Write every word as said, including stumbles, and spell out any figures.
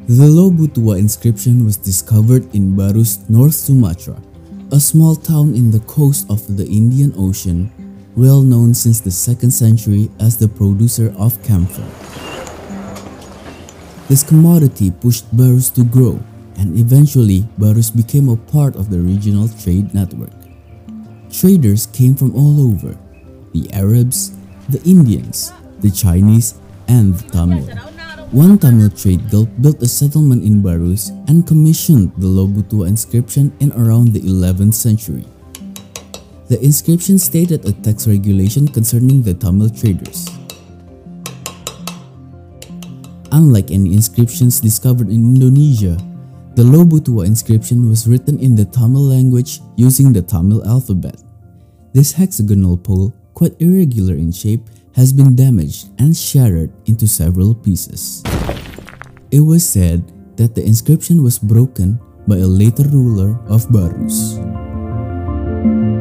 The Lobutua inscription was discovered in Barus, North Sumatra, a small town in the coast of the Indian Ocean, well known since the second century as the producer of camphor. This commodity pushed Barus to grow, and eventually Barus became a part of the regional trade network. Traders came from all over: the Arabs, the Indians, the Chinese, and the Tamil. One Tamil trade guild built a settlement in Barus and commissioned the Lobutua inscription in around the eleventh century. The inscription stated a tax regulation concerning the Tamil traders. Unlike any inscriptions discovered in Indonesia, the Lobutua inscription was written in the Tamil language using the Tamil alphabet. This hexagonal pole, quite irregular in shape, has been damaged and shattered into several pieces. It was said that the inscription was broken by a later ruler of Barus.